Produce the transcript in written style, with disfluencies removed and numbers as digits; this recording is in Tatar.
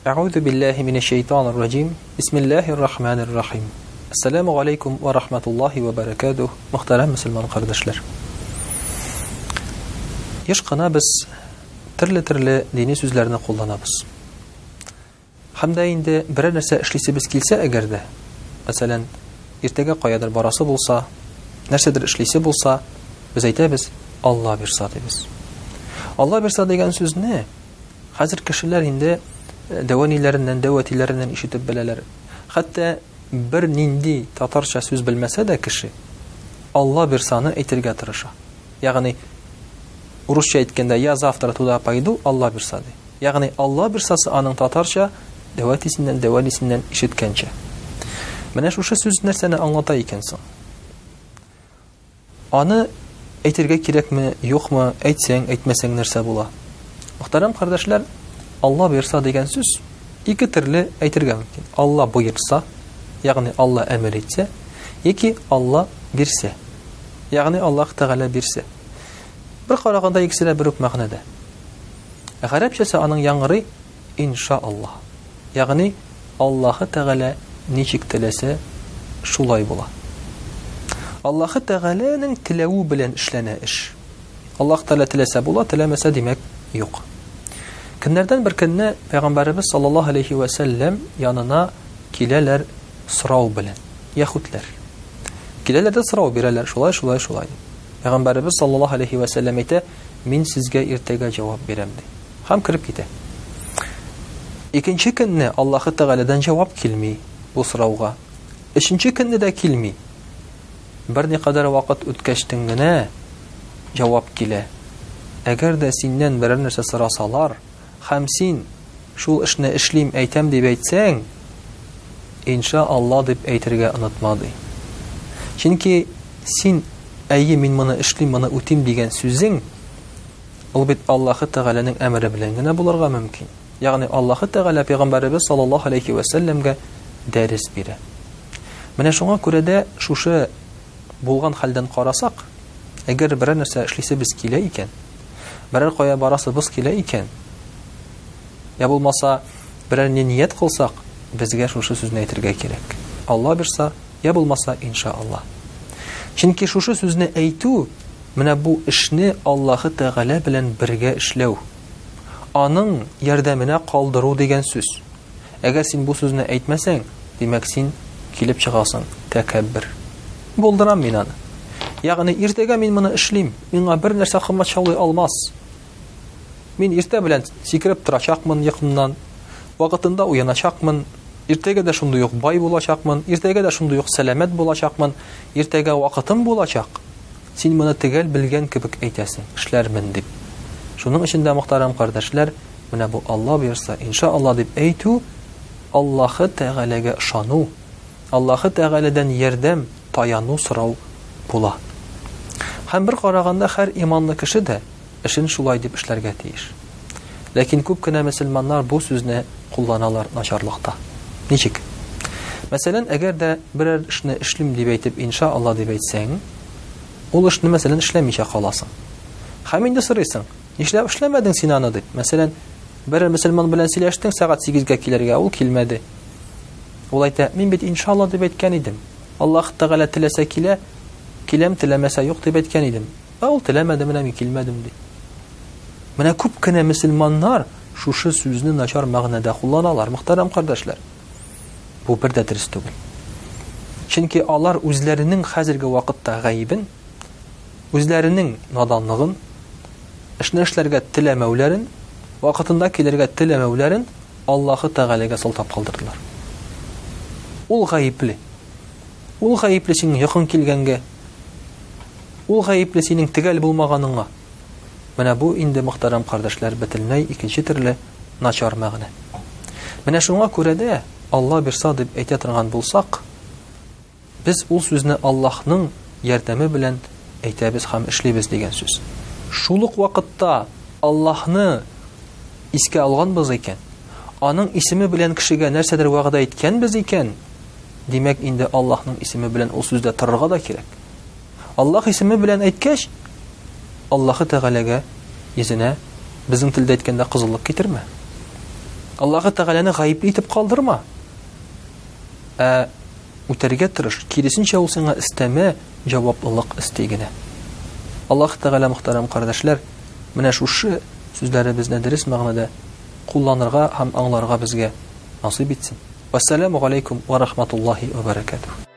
أعوذ بالله من الشيطان الرجيم بسم الله الرحمن الرحيم السلام عليكم ورحمة الله وبركاته محترم مسلمان قردشلر Еш қана біз түрлі дини сөздерді қолданабыз. Хамда инде бірер нәрсе эшлисебез килсә әгәрдә, мәсәлән, иртәгә каядыр барасы булса, нәрсәдер эшлисе булса, без әйтәбез, Алла бирса дибез. Алла бирса дигән сүзне хәзер кешеләр инде дәватиләреннән ишетеп беләләр. Хәтта бер нинди татарча сүз белмәсә дә кеше Алла бирсаны әйтергә тырыша. Ягъни урысча әйткәндә я завтра туда пойду, Алла бирса ди. Ягъни Алла бирсасы аның татарча дәвалисеннән ишеткәнчә. Менә шушы сүз нәрсәне аңлата икән соң? Аны әйтергә кирәкме, юкмы, әйтсәң, әйтмәсәң нәрсә була? Мөхтәрәм кардәшләр, Алла бирса дигән сүз ике төрле әйтергә мөмкин. Алла буйырса, ягъни Алла әмер итсә, яки Алла бирсә. Ягъни Аллаһ Тәгалә бирсә. Бер караганда икесе дә бер үк мәгънәдә. Гарәпчәсе аның яңгырый иншааллаһ. Ягъни Аллаһ Тәгалә ничек теләсә, шулай була. Аллаһ Тәгаләнең теләүе белән эшләнә эш. Аллаһ Тәгалә теләсә була, теләмәсә димәк юк. Көннәрдән бер көнне Пәйгамбәрбез саллаллаһу алейхи ва саллям янына киләләр сорау белән. Яһүдләр. Киләләр дә сорау бирәләр, шулай. Пәйгамбәрбез саллаллаһу алейхи ва саллям әйтә, мин сезгә иртәгә җавап бирәм ди. Һәм кирип китә. Икенче көнне Аллаһ Тәгаләдән җавап килми бу сорауга. Өченче көнне дә килми. Бер никадәр вакыт үткәчтән генә җавап килә. Әгәр дә синнән берәр нәрсә сорасалар, һәм син шул эшне эшлим, әйтәм дип әйтсәң, иншаалла дип әйтергә онытма ди. Чөнки син әйе мин моны эшлим, моны үтим дигән сүзең ул бит Аллаһ Тәгаләнең әмере белән генә булырга мөмкин. Ягъни Аллаһ Тәгалә Пәйгамбәрбез саллаллаһу алейхи ва саллямга дәрес бирә. Менә шуңа күрә дә шушы булган хәлдән карасак, әгәр берәр нәрсә эшлисебез килә икән, берәр кая барасыбыз килә икән, я булмаса берәр ният кылсак, безгә шушы сүзне әйтергә кирәк. Алла бирса, я булмаса иншааллаһ. Чөнки шушы сүзне әйтү, менә бу эшне Аллаһ Тәгалә белән бергә эшләү, аның ярдәменә калдыру дигән сүз. Әгәр син бу сүзне әйтмәсәң, димәк син килеп чыгасың тәкәббер. Булдырам мин аны. Ягъни иртәгә мин моны эшлим, миңа бер нәрсә кыммат чалый алмас. Мин иртә белән сикереп торачакмын якыннан, вакытында уяначакмын, иртәгә дә шундый ук бай булачакмын, иртәгә дә шундый ук сәламәт булачакмын, иртәгә вакытым булачак. Син моны төгәл белгән кебек әйтәсең, эшләрмен дип. Шуның өчен дә мөхтәрәм кардәшләр, менә бу Алла бирса, иншаалла дип әйтү, Аллаһ Тәгаләгә ышану, Аллаһ Тәгаләдән ярдәм, таяну сорау була. Һәм бер караганда һәр иманлы кеше дә эшен шулай дип эшләргә тиеш. Ләкин күп кенә мөселманнар бу сүзне кулланалар начарлыкта. Ничек? Мәсәлән, әгәр дә берәр эшне эшлим дип әйтеп, иншаалла дип әйтсәң, ул эшне мәсәлән эшләмичә каласың. Һәм инде сорыйсың, нишләп эшләмәдең син аны дип. Мәсәлән, бер мөселман белән сөйләштең, сәгать 8-гә килергә, ул килмәде. Ул әйтә, мин бит иншаалла дип әйткән идем. Аллаһ Тәгалә теләсә килә, киләм, теләмәсә юк дип әйткән идем. Ул теләмәде, менә мин килмәдем ди. Менә күп кенә мөселманнар шушы сүзне начар мәгънәдә кулланалар, мөхтәрәм кардәшләр. Бу бер дә дөрес түгел. Чөнки алар үзләренең хәзерге вакытта гаибен, үзләренең наданлыгын, эшне эшләргә теләмәүләрен, вакытында килергә теләмәүләрен Аллаһ Тәгаләгә сылтап калдырдылар. Ул гаипле. Ул гаипле синең якын килгәнгә. Ул гаипле синең төгәл булмаганыңа. Менә бу инде мөхтәрәм кардәшләр бөтенләй икенче төрле начар мәгънә. Менә шуңа күрә дә Алла бирса дип әйтә торган булсак, без ул сүзне Аллаһның ярдәме белән әйтәбез һәм эшлибез дигән сүз. Шул ук вакытта Аллаһны искә алганбыз икән, аның исеме белән кешегә нәрсәдер вәгъдә иткәнбез икән, димәк инде Аллаһның исеме белән ул сүздә торырга да кирәк. Аллаһ исеме белән әйткәч, Аллаһ Тәгаләгә йөзенә безнең телдә әйткәндә кызыллык китермә. Аллаһы Тәгаләне гаипле итеп калдырма. Үтәргә тырыш. Киресенчә ул сиңа истәмә, җаваплылык истә генә. Аллаһ Тәгалә, мөхтәрәм кардәшләр, менә шушы сүзләребезне дөрес мәгънәдә кулланырга һәм аңларга безгә насыйп итсен. Вассаламу алейкум ва рахматуллаһи ва баракатуһ.